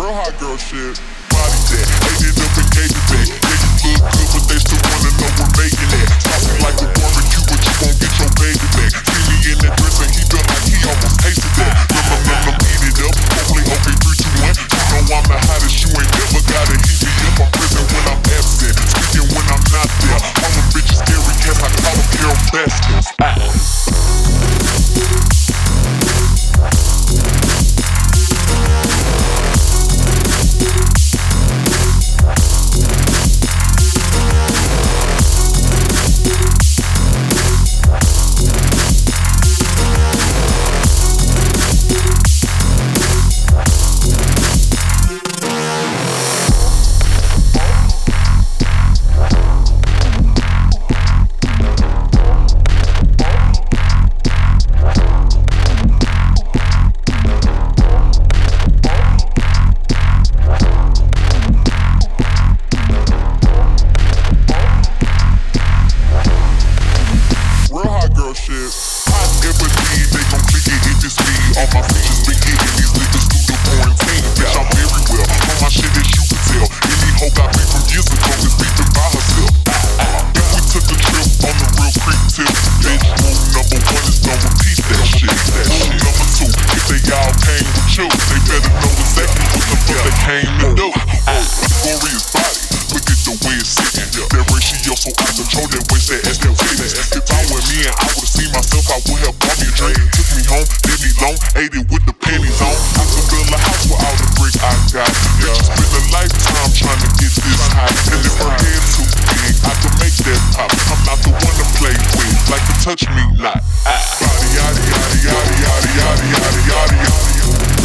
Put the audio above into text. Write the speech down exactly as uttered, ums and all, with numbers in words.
Real hot girl shit. Body that, ate it up and gave it back. Yeah, you look good, but they still wanna know we're making that. Saucy like a barbecue, but you won't get your baby back. See me in that dress and he felt like he almost tasted that. Num num num num, eat it up. Hopefully, okay, three, two, one. You know I'm the hottest, you ain't never gotta heat me up. I'm present when I'm absent, speaking when I'm not there. All them bitches scary cats, I call them Carol Baskins. Ah. Shit. Hot everything, they gon' click it if it's me. All my features been hitting these niggas through the quarantine. Bitch, I'm very well on my shit as you can tell. Any hoe got me from years ago is beefing by herself. If we took a trip on the real creep tip, bitch, rule number one is don't repeat that shit. Rule number two, if they all came with you, they better know exactly what the fuck they came to do. Glorious body, look at the way it's sitting. That ratio so out of control, that waist, that ass, that fitness. If I were me and I would've seen myself, I would have bought me a drink. Took me home, did me long, ate it with the panties on. I could build a house with all the brick I got. Bitches spend a lifetime trying to get this high. And if her head too big, I can make that pop. I'm not the one to play with, like to touch me not. Body yaddy yaddy yaddy yaddy yaddy yaddy yaddy yaddy.